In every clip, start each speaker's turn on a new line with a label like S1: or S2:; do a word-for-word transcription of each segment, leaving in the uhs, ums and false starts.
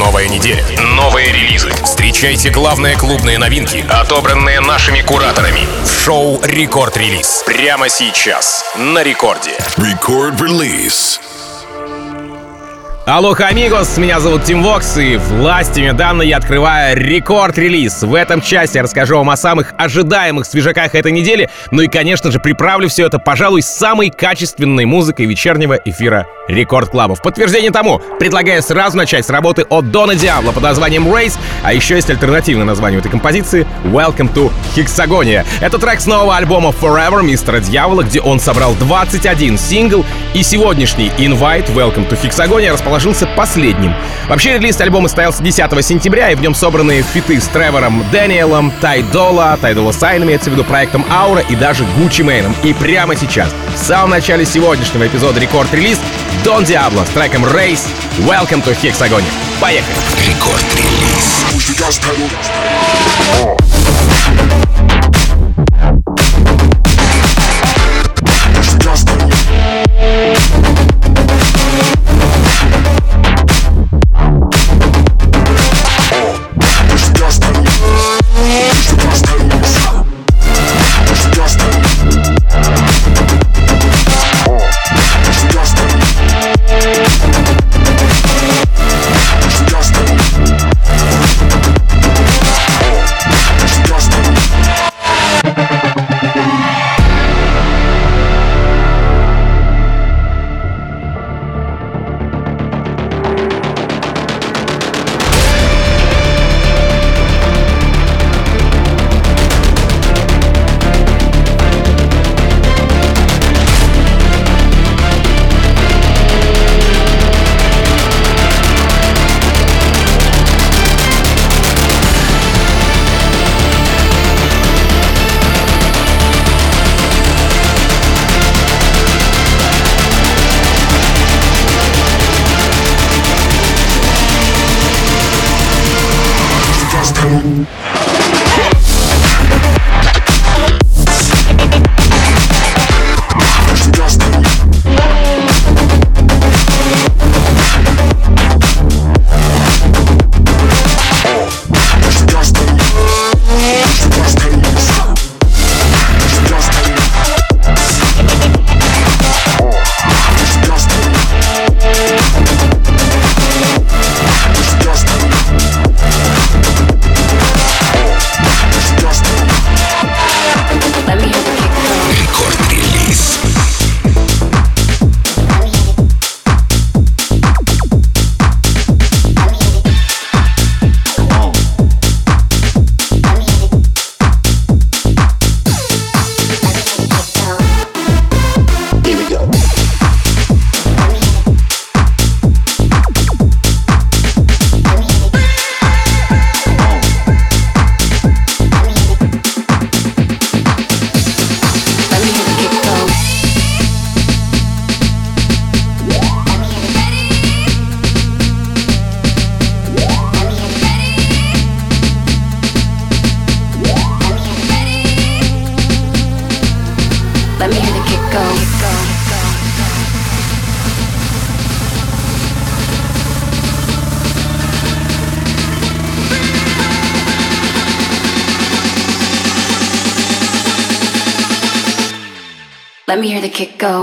S1: Новая неделя, новые релизы. Встречайте главные клубные новинки, отобранные нашими кураторами. В шоу «Рекорд-релиз». Прямо сейчас на Рекорде.
S2: Рекорд-релиз.
S3: Алоха, амигос, меня зовут Тим Вокс, и властями данной я открываю рекорд-релиз. В этом часе я расскажу вам о самых ожидаемых свежаках этой недели, ну и, конечно же, приправлю все это, пожалуй, с самой качественной музыкой вечернего эфира Рекорд Клаба. В подтверждение тому предлагаю сразу начать с работы от Дона Диабло под названием Race, а еще есть альтернативное название этой композиции — Welcome to Hexagonia. Это трек с нового альбома Forever Мистера Дьявола, где он собрал двадцать один сингл, и сегодняшний Invite Welcome to Hexagonia расположился последним. Вообще, релиз альбома состоялся десятого сентября, и в нем собраны фиты с Тревором Дэниелом, Ty Dolla, Ty Dolla Sign, имеется в виду, проектом Aura и даже Gucci Mane. И прямо сейчас, в самом начале сегодняшнего эпизода Рекорд-релиз, Дон Диабло с треком Race Welcome to Hexagonia. Поехали!
S2: Рекорд-релиз.
S4: Let me hear the kick go.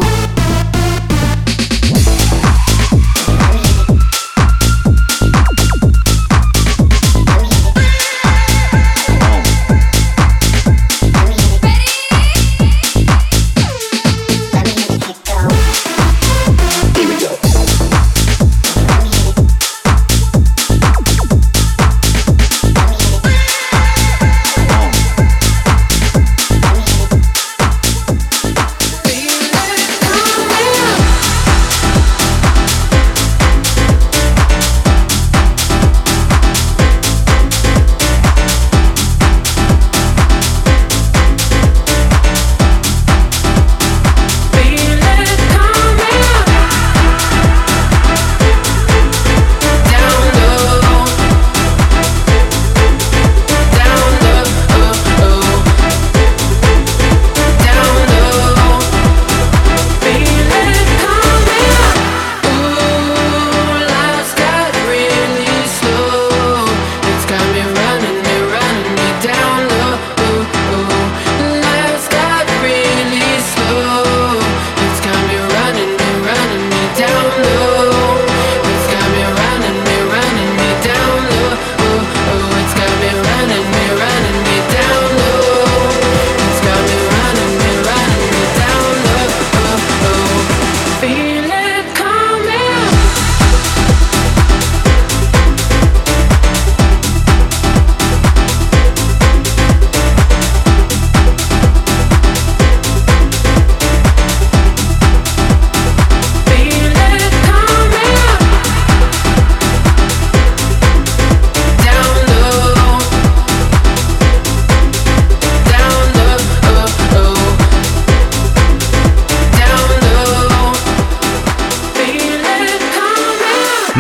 S5: Feel it.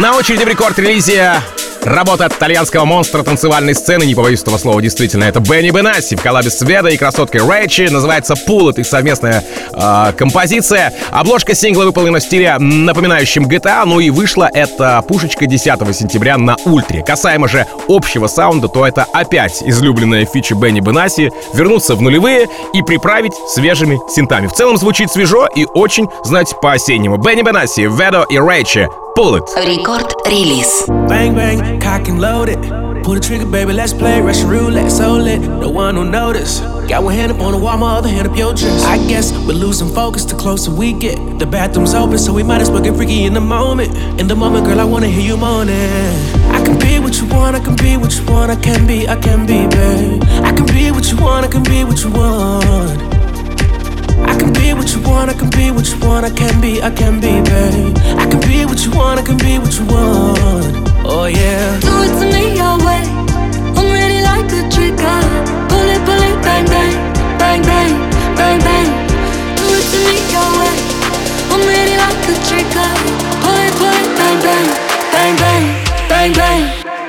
S3: На очереди в рекорд-релизе работа от итальянского монстра танцевальной сцены, не побоюсь этого слова, действительно, это Бенни Бенасси в коллабе с Ведо и красоткой Рэйчи. Называется «Pull». Это их совместная э, композиция. Обложка сингла выполнена в стиле, напоминающем джи ти эй, ну и вышла эта пушечка десятого сентября на Ультре. Касаемо же общего саунда, то это опять излюбленная фича Бенни Бенасси вернуться в нулевые и приправить свежими синтами. В целом звучит свежо и очень, знаете, по-осеннему. Бенни Бенасси, Ведо и Рэйчи. Pull it.
S5: Рекорд-релиз.
S6: Bang, bang, cock and loaded. Pull the trigger, baby, let's play Russian roulette. So lit, no one will notice. Got one hand up on the wall, my other hand up your dress. I guess we're losing focus the closer we get. The bathroom's open, so we might as well get freaky in the moment. In the moment, girl, I wanna hear you moaning. I can be what you want, I can be what you want. I can be, I can be, babe. I can be what you want, I can be what you want. I can be what you want, I can be what you want. I can be, I can be, babe. I can be what you want, I can be what you want. Oh yeah.
S4: Do it to me your way. I'm ready like a trigger. Pull it, pull it, bang, bang, bang, bang, bang, bang. Do it to me your way. I'm ready like a trigger. Pull it, pull it, bang, bang, bang, bang, bang, bang.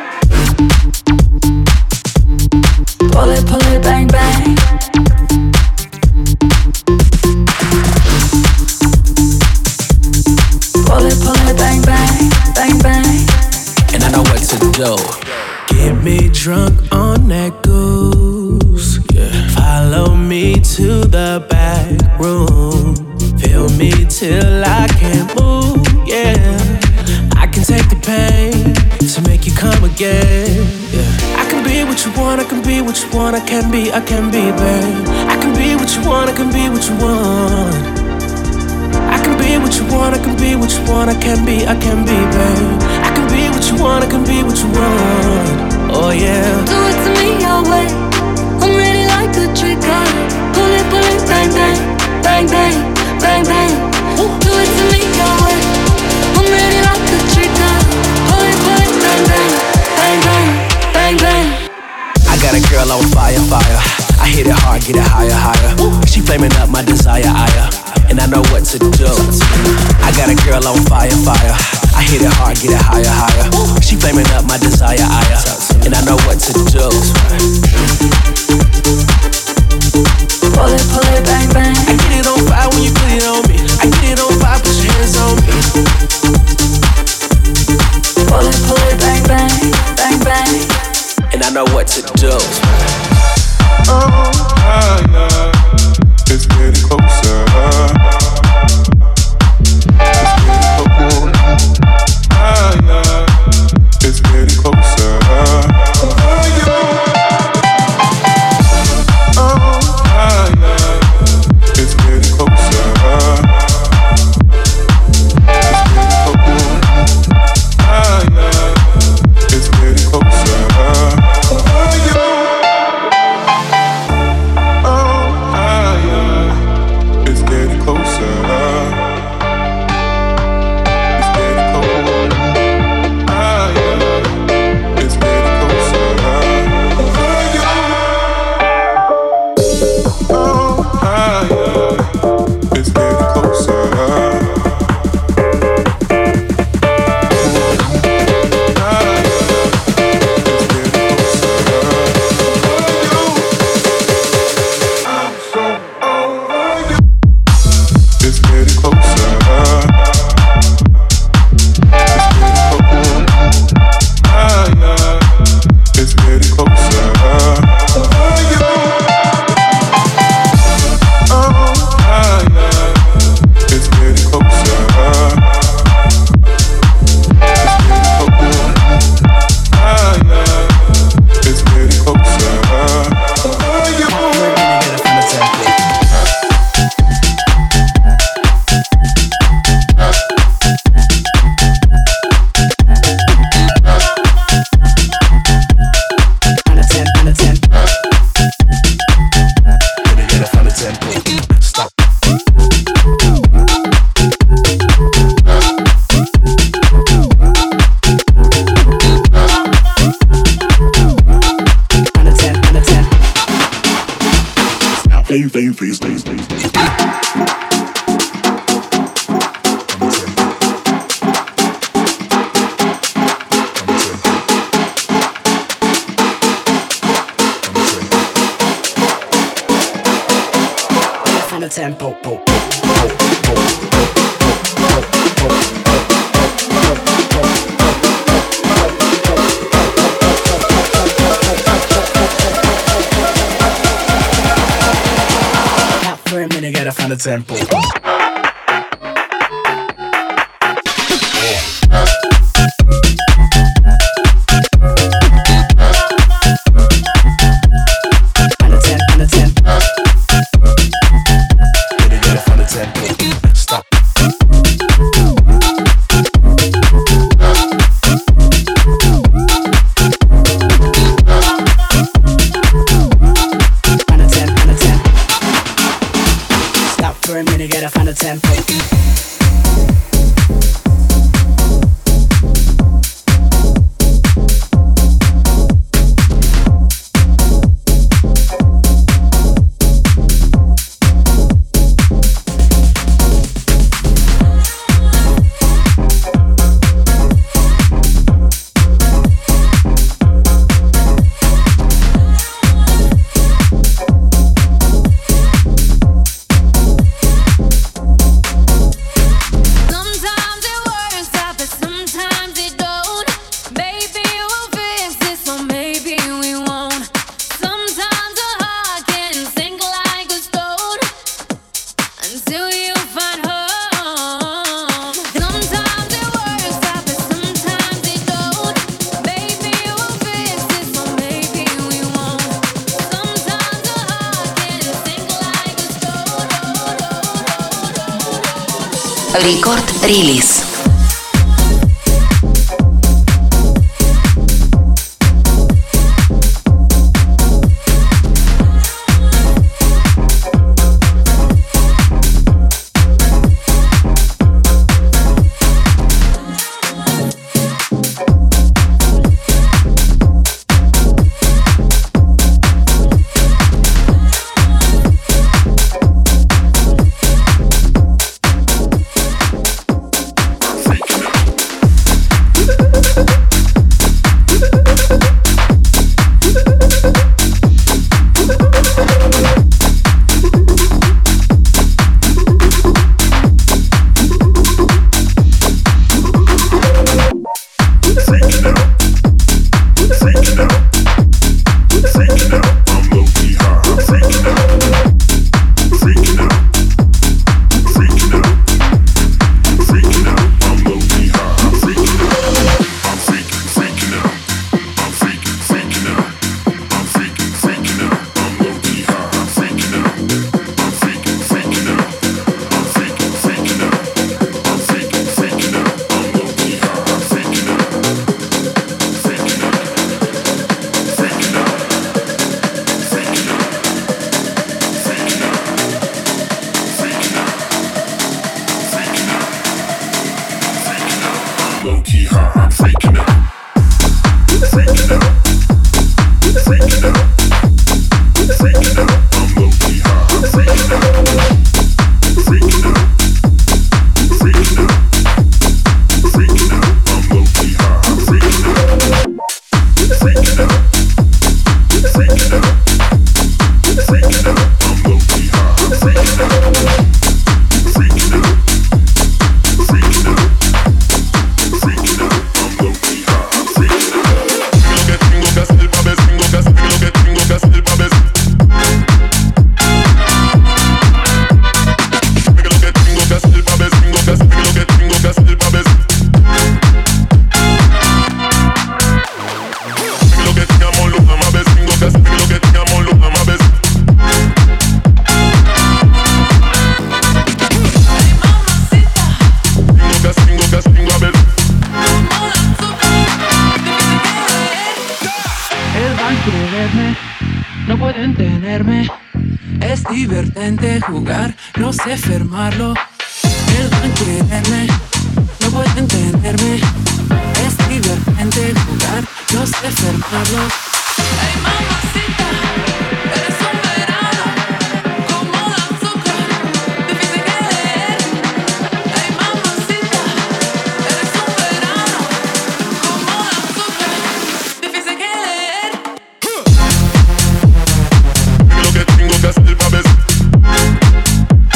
S4: Pull it, pull it, bang, bang. Pull it, pull it, bang, bang, bang, bang.
S6: And I know what to do. Get me drunk on that goose. Yeah. Follow me to the back room. Feel me till I can't move. Yeah. I can take the pain to make you come again. Yeah. I can be what you want, I can be what you want. I can be, I can be, babe. I can be what you want, I can be what you want. I can be what you want, I can be what you want. I can be, I can be, babe. I can be what you want, I can be what you want. Oh yeah.
S4: Do it to me your way. I'm ready like a trigger. Pull it, pull it, bang, bang, bang, bang, bang, bang. Do it to me your way. I'm ready like a trigger. Pull it, pull it, bang, bang, bang, bang, bang, bang.
S6: I got a girl on fire, fire. I hit it hard, get it higher, higher. She flaming up my desire, ire. And I know what to do. I got a girl on fire, fire. I hit it hard, get it higher, higher. She flaming up my desire, ire. And I know what to do.
S4: Pull it, pull it, bang, bang.
S6: I get it on fire when you put it on me. I get it on fire, put your hands on me.
S4: Pull it, pull it, bang, bang, bang, bang.
S6: And I know what to do.
S7: Oh, yeah. It's getting closer. It's getting closer. Oh, yeah. It's getting closer. It's getting closer. Oh,
S5: tempo. For a minute, gotta find a tempo.
S8: Рекорд-релиз.
S6: Divertente jugar, no sé fermarlo. Perdón quererme, no pueden entenderme. Es divertente jugar, no sé fermarlo. Hey mamacita, eres un verano, como el azúcar, difícil que leer. Hey mamacita, eres un verano, como el azúcar, difícil que leer. Lo que tengo que hacer pa' besar.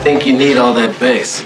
S5: think you need all that bass.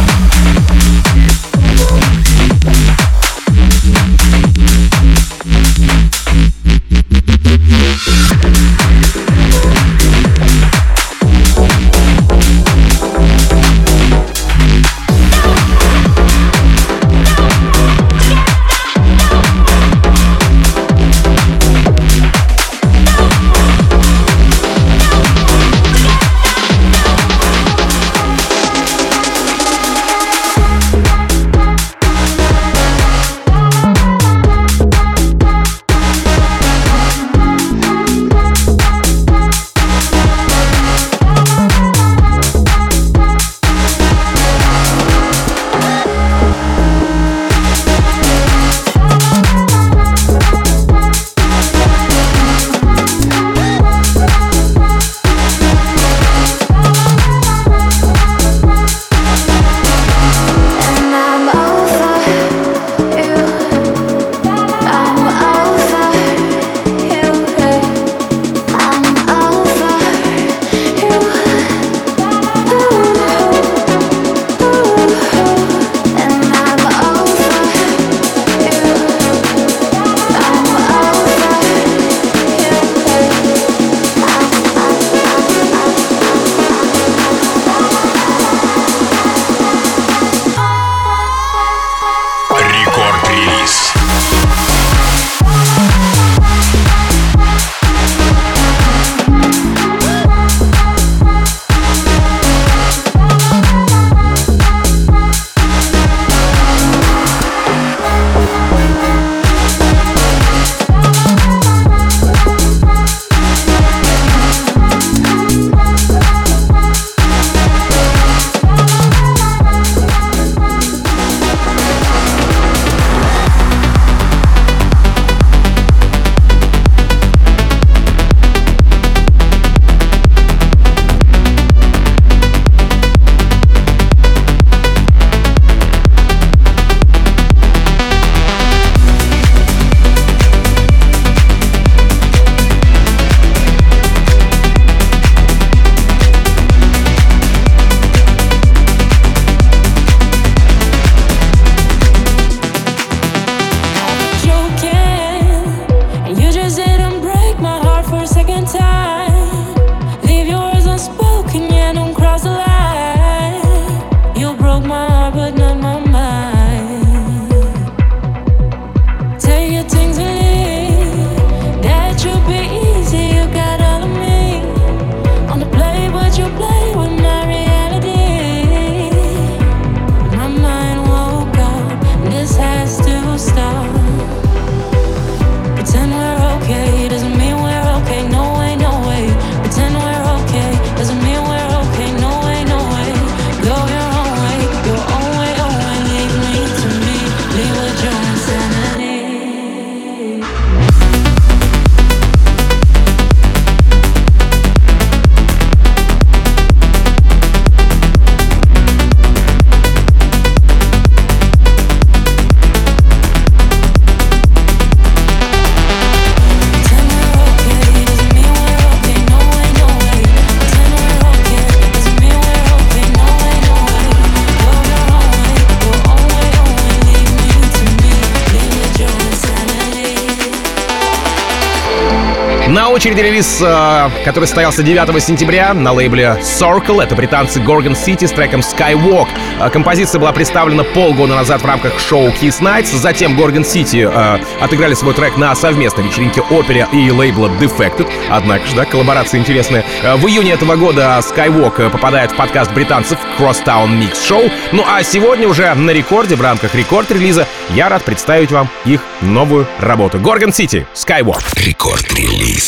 S3: На очереди релиз, э, который состоялся девятого сентября на лейбле Circle. Это британцы Gorgon City с треком Skywalk. Э, композиция была представлена полгода назад в рамках шоу Kiss Nights. Затем Gorgon City э, отыграли свой трек на совместной вечеринке Opera и лейбла Defected. Однако же, да, коллаборация интересная. Э, в июне этого года Skywalk попадает в подкаст британцев Crosstown Mix Show. Ну а сегодня уже на рекорде, в рамках рекорд-релиза, я рад представить вам их новую работу. Gorgon City, Skywalk.
S2: Рекорд-релиз.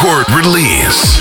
S2: Record Release.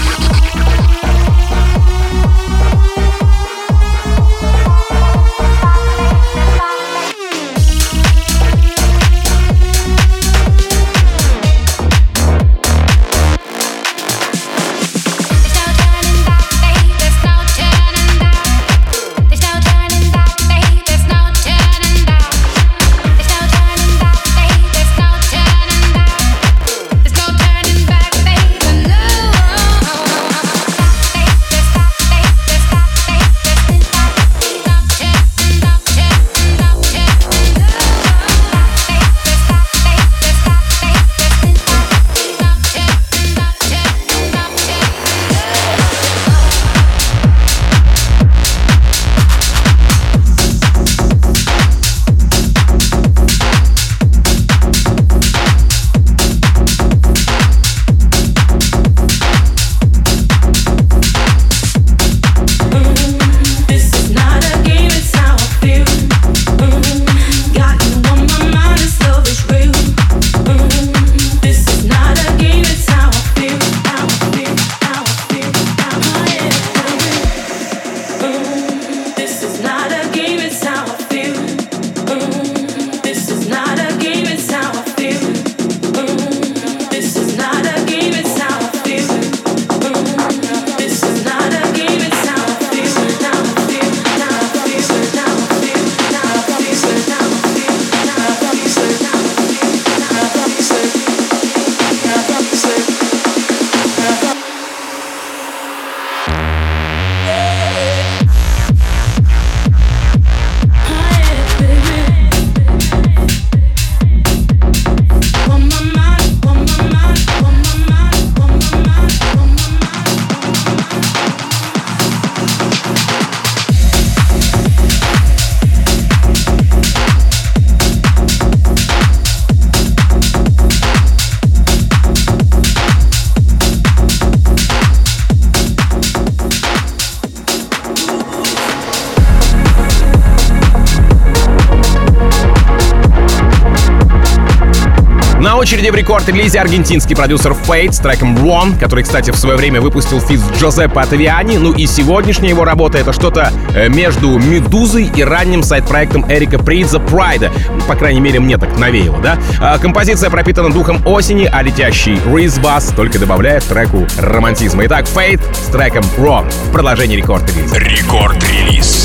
S3: На очереди в рекорд-релизе аргентинский продюсер Fate с треком One, который, кстати, в свое время выпустил фит с Джозеппе Оттавиани. Ну и сегодняшняя его работа — это что-то между «Медузой» и ранним сайт-проектом Эрика Придза «Прайда». Ну, по крайней мере, мне так навеяло, да? А композиция пропитана духом осени, а летящий Ризбас только добавляет треку романтизма. Итак, Fate с треком One в продолжении рекорд-релиза.
S1: Рекорд-релиз.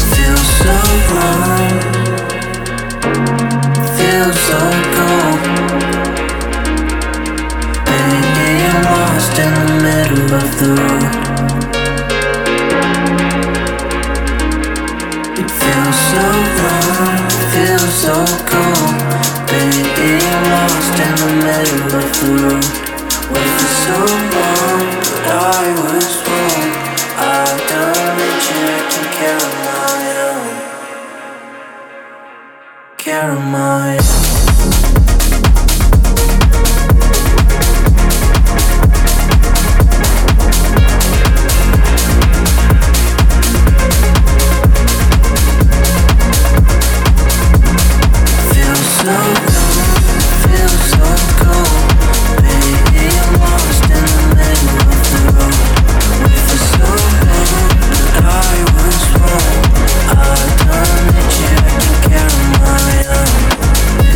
S5: Lost in the middle of the road. It feels so wrong, feels so cold. Baby, I'm lost in the middle of the road. Wait for so long, but I was wrong. I've done it, taking care of my own. Care of my own.
S6: Care of my own.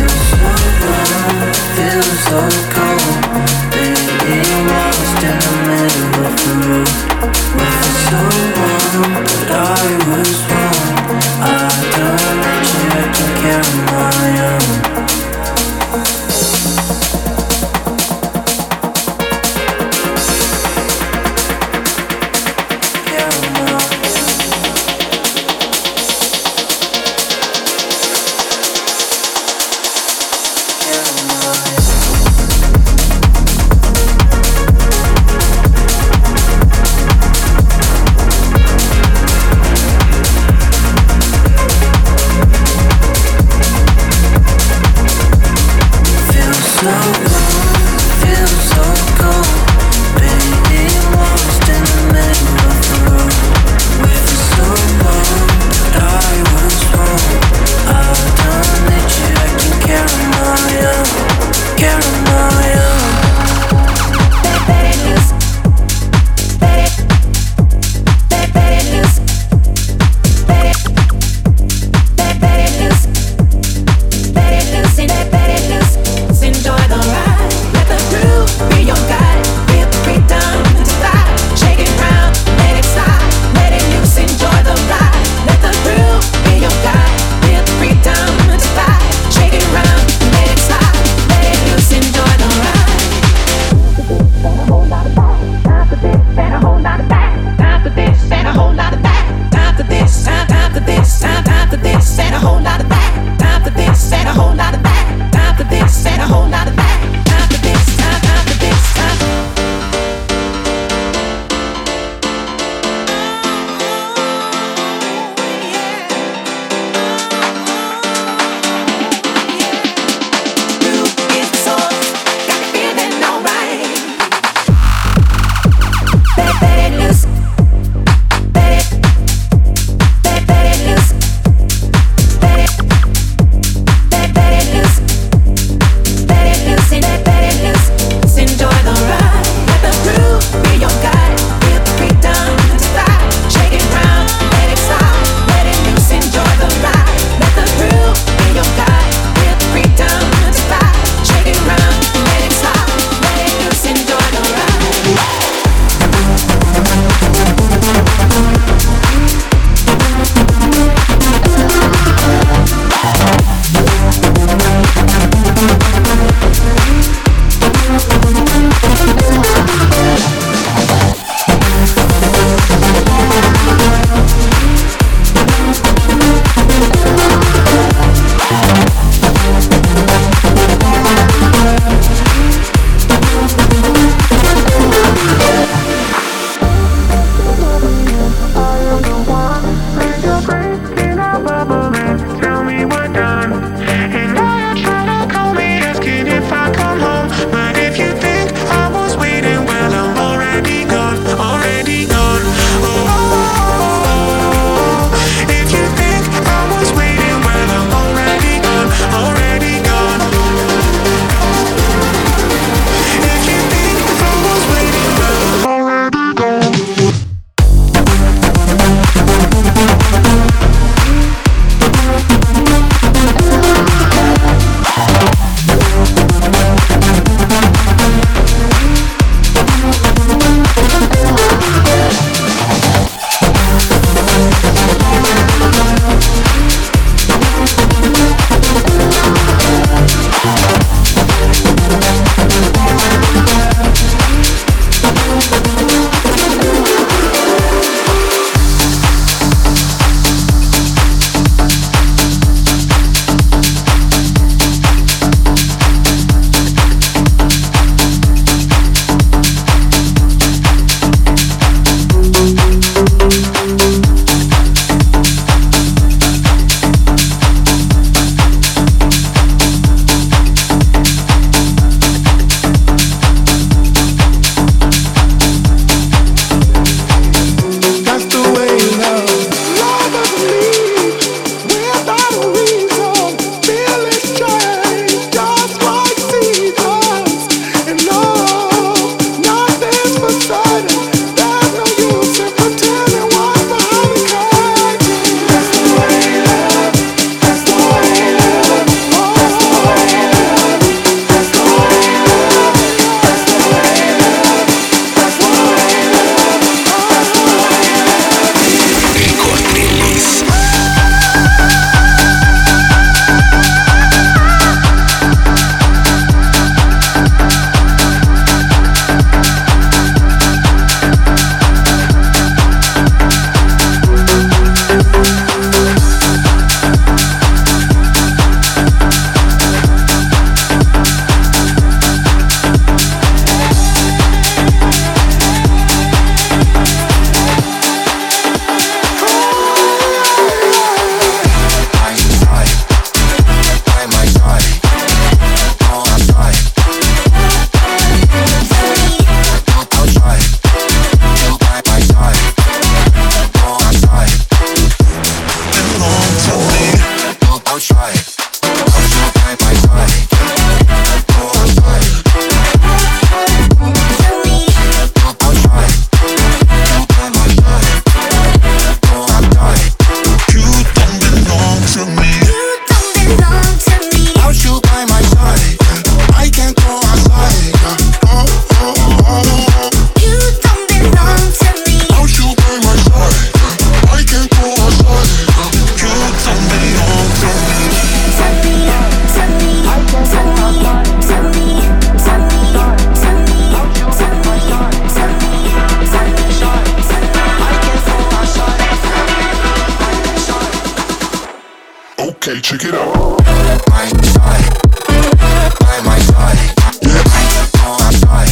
S7: Okay, check it out.
S5: My side, by my side. Yeah. Go outside.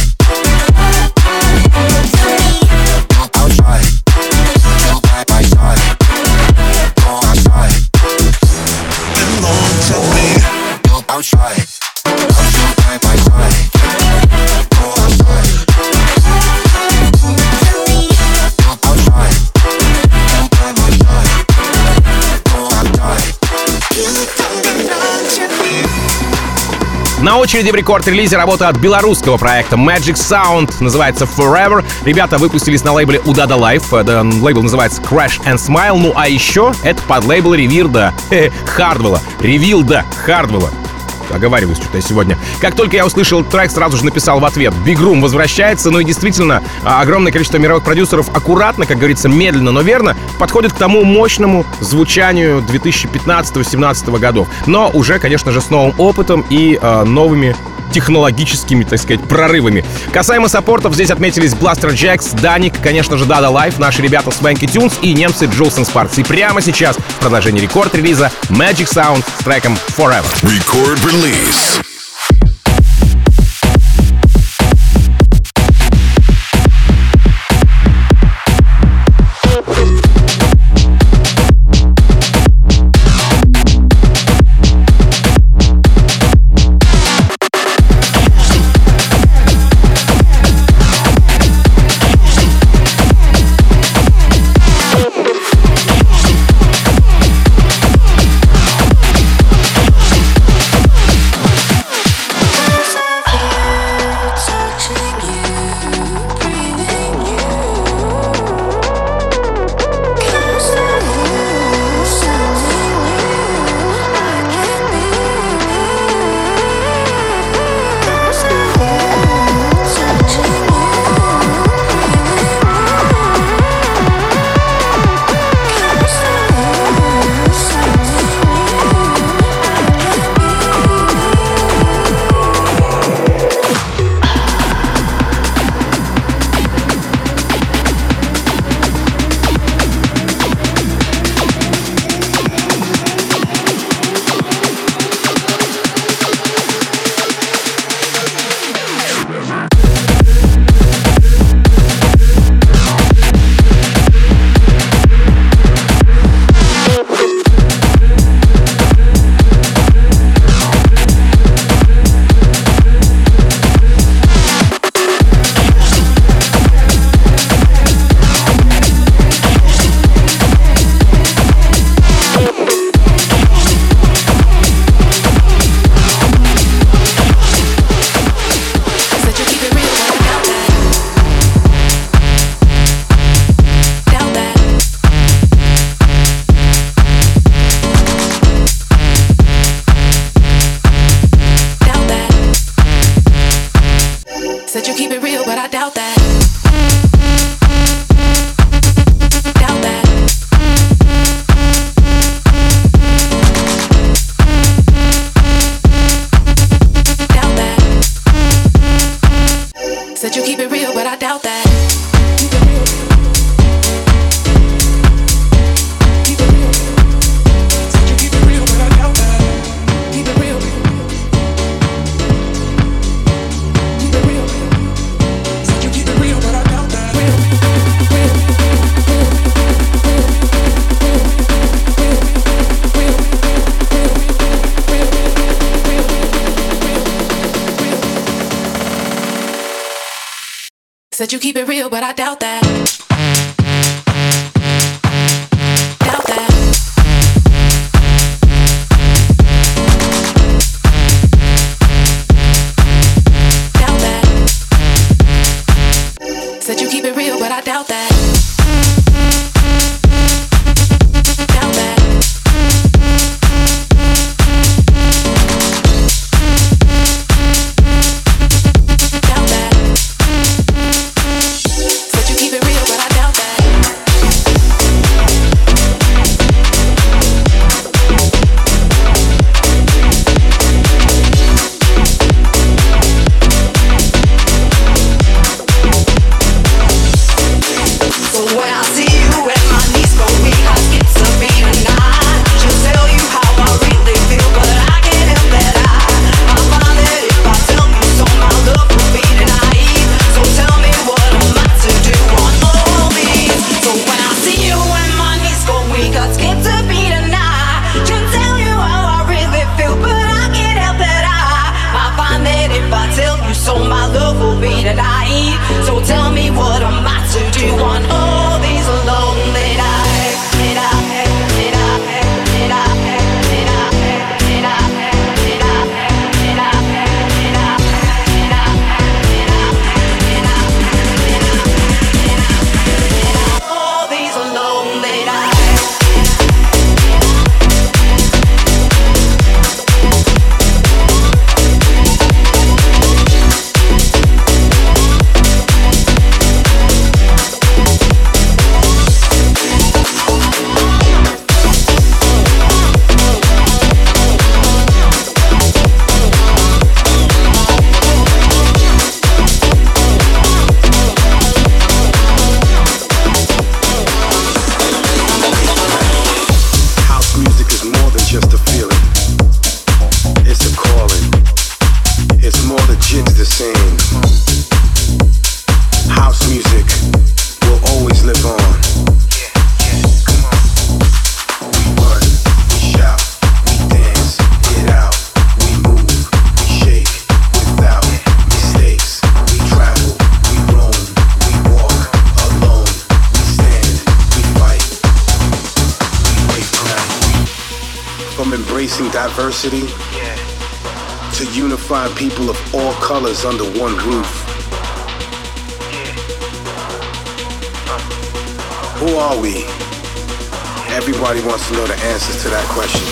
S5: Outside. By my side. Go outside.
S7: Belong to me.
S5: Go outside. By my side. Go outside. Go outside. By my side. Go outside.
S3: На очереди в рекорд-релизе работа от белорусского проекта Magic Sound, называется Forever. Ребята выпустились на лейбле Udada Life, лейбл называется Crash and Smile. Ну а еще это под лейбл Ревилда Хардвелла. Ревилда Хардвелла. Оговариваюсь что-то я сегодня. Как только я услышал трек, сразу же написал в ответ: Big Room возвращается. Ну и действительно, огромное количество мировых продюсеров аккуратно, как говорится, медленно, но верно подходит к тому мощному звучанию две тысячи пятнадцатого-семнадцатого годов. Но уже, конечно же, с новым опытом и э, новыми технологическими, так сказать, прорывами. Касаемо саппортов, здесь отметились Blaster Jacks, Даник, конечно же, Dada Life, наши ребята Swanky Tunes и немцы Jules and Sparks. И прямо сейчас в продолжении рекорд-релиза Magic Sound с треком Forever.
S2: Record release.
S8: Said you keep it real, but I doubt that. Doubt that. Doubt that. Said you keep it real, but I doubt that. Said you keep it real, but I doubt that. Doubt that.
S9: is more than just a feeling. It's a calling. It's more the jigs the same. House music will always live on. We run, we shout, we dance, get out, we move, we shake without mistakes. We travel, we roam, we walk alone. We stand, we fight, we wait for night. From embracing diversity to unifying people of all colors under one roof. Who are we? Everybody wants to know the answers to that question.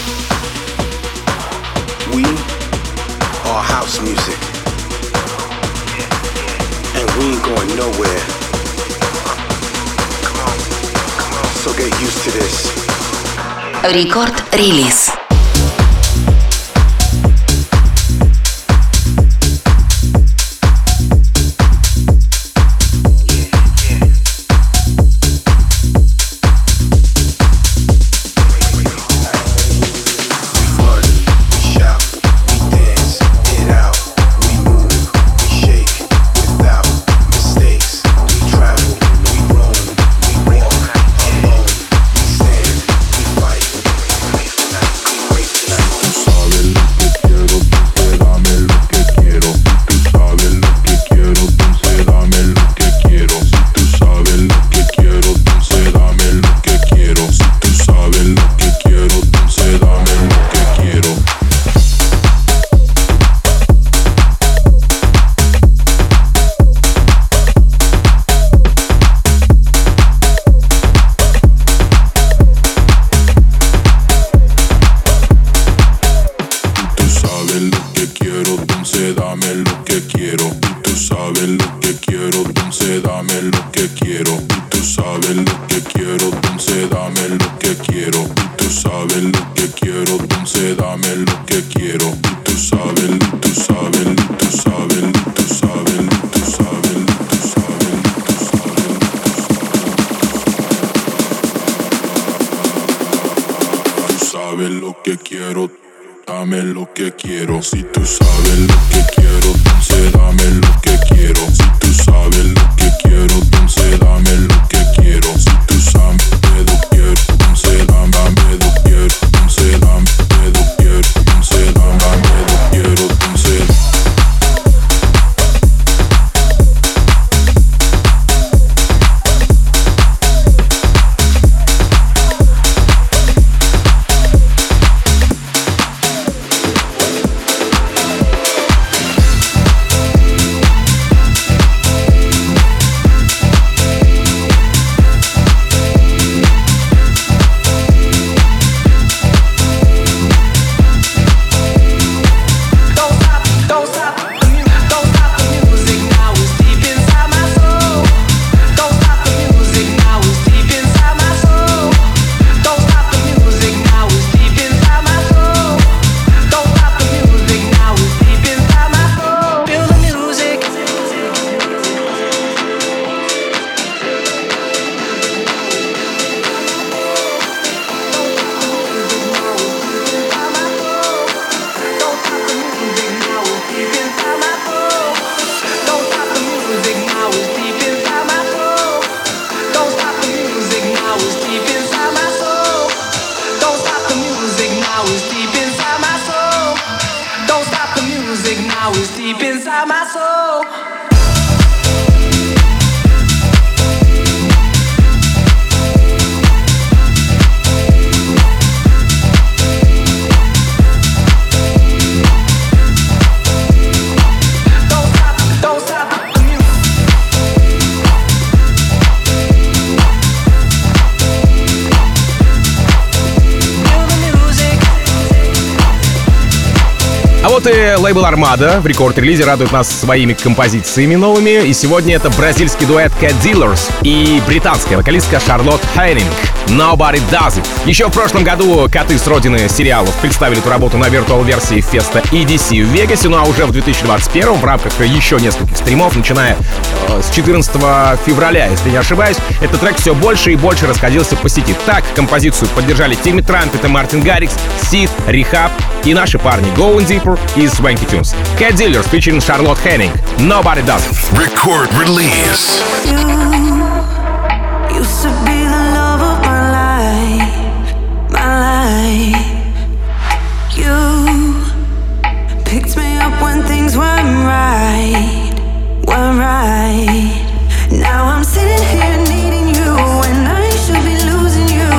S9: We are house music. And we ain't going nowhere. So get used to this.
S10: Рекорд-релиз.
S3: А вот и лейбл Armada в рекорд-релизе радует нас своими композициями новыми. И сегодня это бразильский дуэт Cat Dealers и британская вокалистка Шарлотт Хеннинг Nobody Does It. Еще в прошлом году коты с родины сериалов представили эту работу на виртуал-версии феста и ди си в Вегасе, ну а уже в две тысячи двадцать первом в рамках еще нескольких стримов, начиная э, с четырнадцатого февраля, если не ошибаюсь, этот трек все больше и больше расходился по сети. Так композицию поддержали Тимми Трампет и Мартин Гаррикс, Сид, Рехаб и наши парни Going Deeper и Swanky Tunes. Cat Dealers featuring Шарлотт Хеннинг Nobody Does It.
S2: Record release.
S5: You used to be the love of my life, my life. You picked me up when things weren't right, weren't right. Now I'm sitting here needing you when I should be losing you.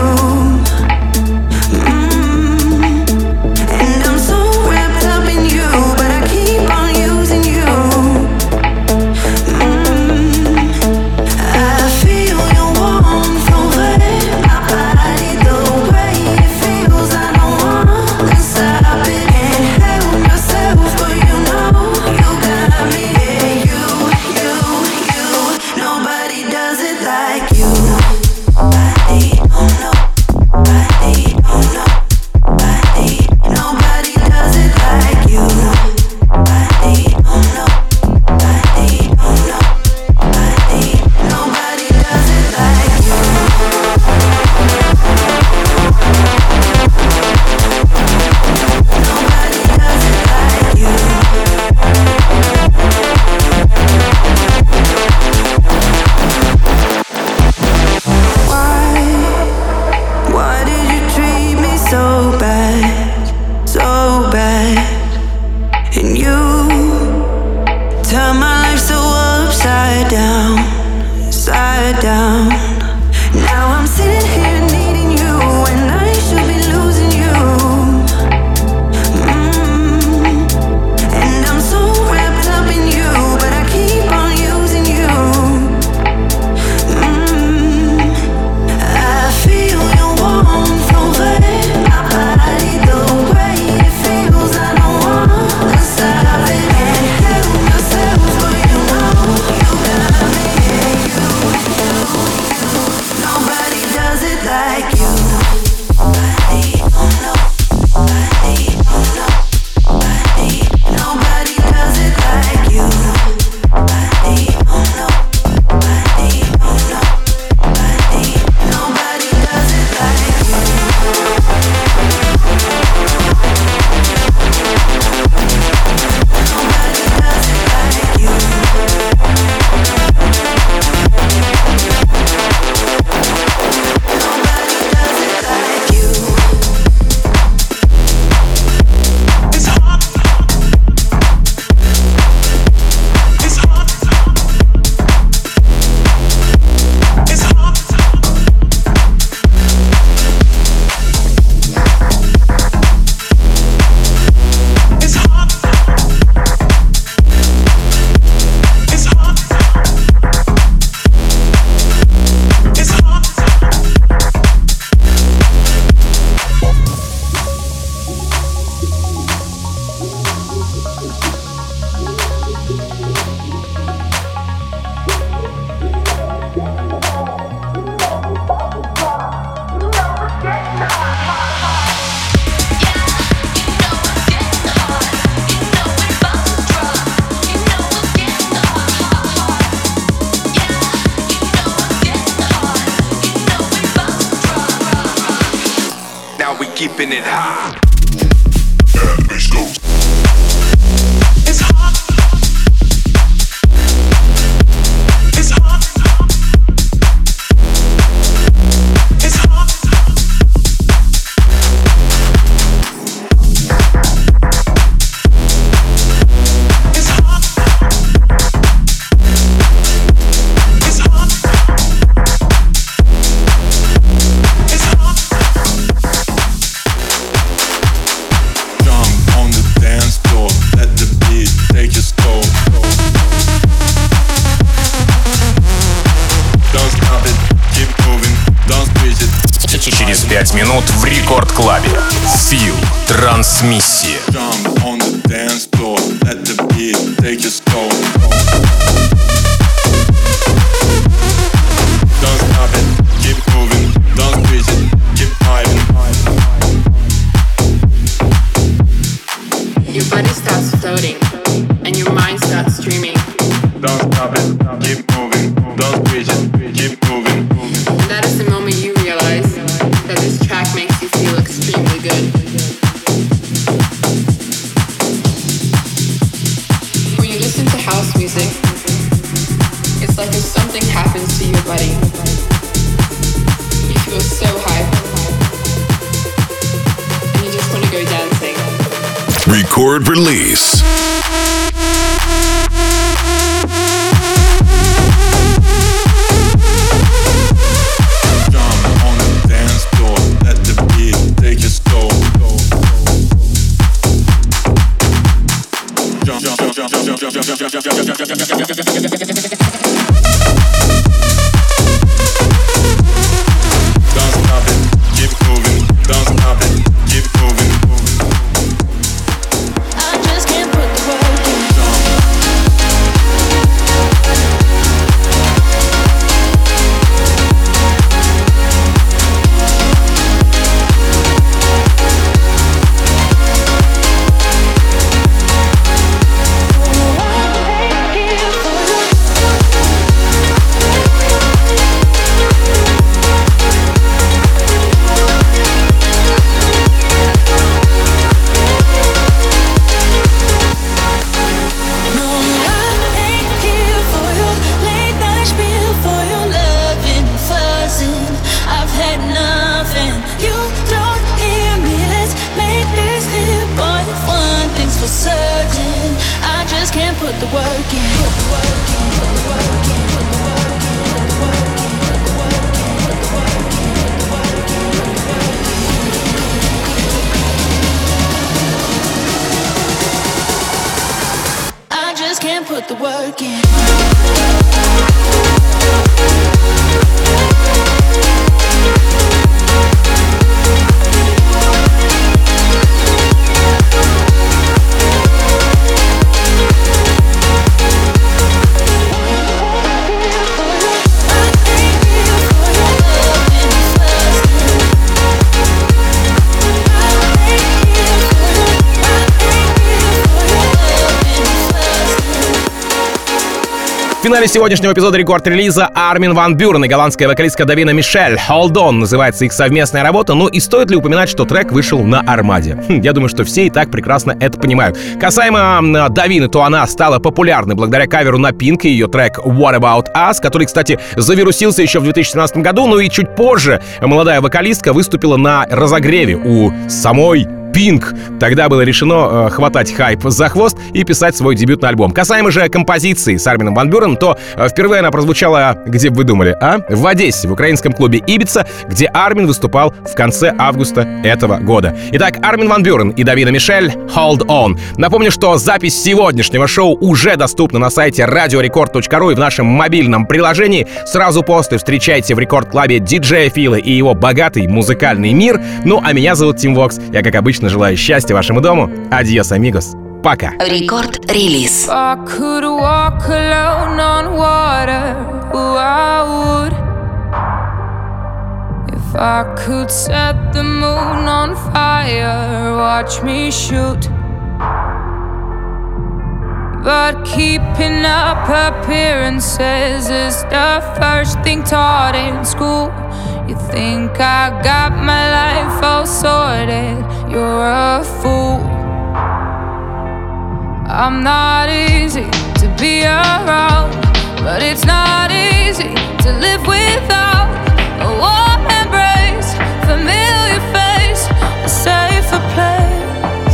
S9: Keeping it high.
S7: Let's go.
S9: It's hot. It's hot. It's hot. It's hot. It's hot. It's hot. Jump on the dance floor, let the beat take you slow. Don't stop it, keep moving, don't squeeze it.
S1: Через пять минут в Рекорд Клабе. Фил. Трансмиссия.
S9: Jump on the dance
S10: streaming.
S11: Don't stop it, keep moving. Don't switch it, keep moving.
S10: And that is the moment you realize that this track makes you feel extremely good. When you listen to house music, it's like if something happens to your body. You feel so hyped. And you just want to go dancing.
S2: Record release.
S3: В финале сегодняшнего эпизода рекорд-релиза Армин ван Бюрен и голландская вокалистка Давина Мишель. Hold On называется их совместная работа, ну и стоит ли упоминать, что трек вышел на Армаде? Хм, я думаю, что все и так прекрасно это понимают. Касаемо Давины, то она стала популярной благодаря каверу на Pink и ее трек What About Us, который, кстати, завирусился еще в две тысячи семнадцатом году, ну и чуть позже молодая вокалистка выступила на разогреве у самой Pink. Тогда было решено э, хватать хайп за хвост и писать свой дебютный альбом. Касаемо же композиции с Армином ван Бюрен, то э, впервые она прозвучала, где бы вы думали, а? В Одессе, в украинском клубе Ибица, где Армин выступал в конце августа этого года. Итак, Армин ван Бюрен и Давина Мишель, Hold On. Напомню, что запись сегодняшнего шоу уже доступна на сайте радио рекорд точка ру и в нашем мобильном приложении. Сразу после встречайте в рекорд-клабе диджея Фила и его богатый музыкальный мир. Ну, а меня зовут Тим Вокс. Я, как обычно, желаю счастья вашему дому. Адьос, амигос. Пока.
S12: Рекорд-релиз.
S13: If I could set the moon on fire, watch me shoot. But keeping up appearances is the first thing taught in school. You think I got my life all sorted, you're a fool. I'm not easy to be around, but it's not easy to live without a warm embrace, familiar face, a safer place.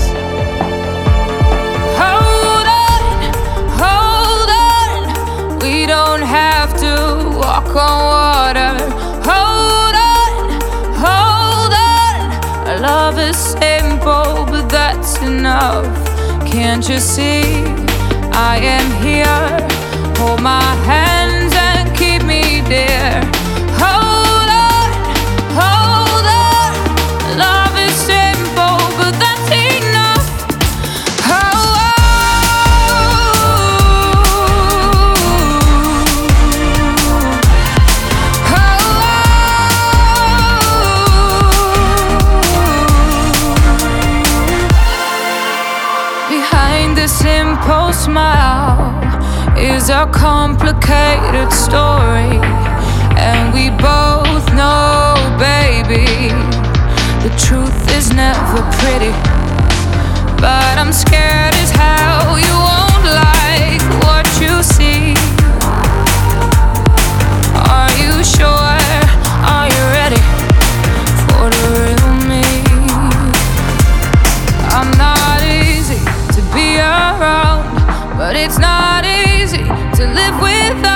S13: Hold on, hold on, we don't have to walk on water. Hold on, hold on, our love is simple, but that's enough. Can't you see, I am here, hold my hands and keep me dear. Hold on, hold on, love is simple, but that's enough. Oh, oh, oh. Behind the a simple smile is a complicated story. And we both know, baby, the truth is never pretty. But I'm scared as hell you won't like what you see. Are you sure? Are you ready for the real me? I'm not easy to be around, but it's not easy to live without.